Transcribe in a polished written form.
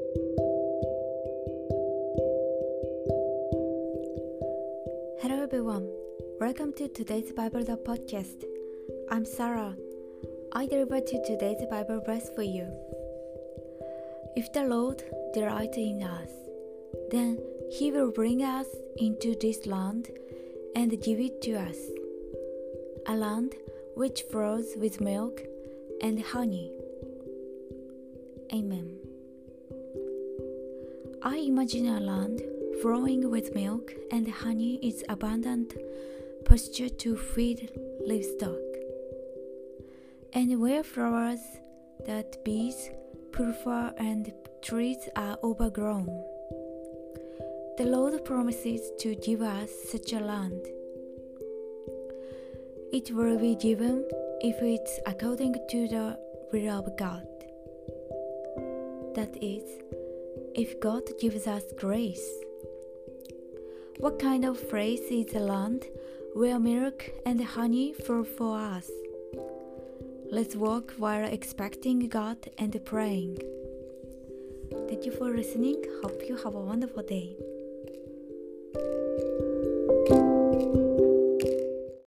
Hello everyone, welcome to today's Bible the podcast. I'm Sarah. I deliver to today's Bible verse for you. If the Lord delights in us, then He will bring us into this land and give it to us, a land which flows with milk and honey. Amen. I imagine a land flowing with milk and honey is abundant pasture to feed livestock, and where flowers that bees prefer and trees are overgrown. The Lord promises to give us such a land. It will be given if it's according to the will of God. That is, if God gives us grace. What kind of place is the land where milk and honey flow for us? Let's walk while expecting God and praying. Thank you for listening. Hope you have a wonderful day.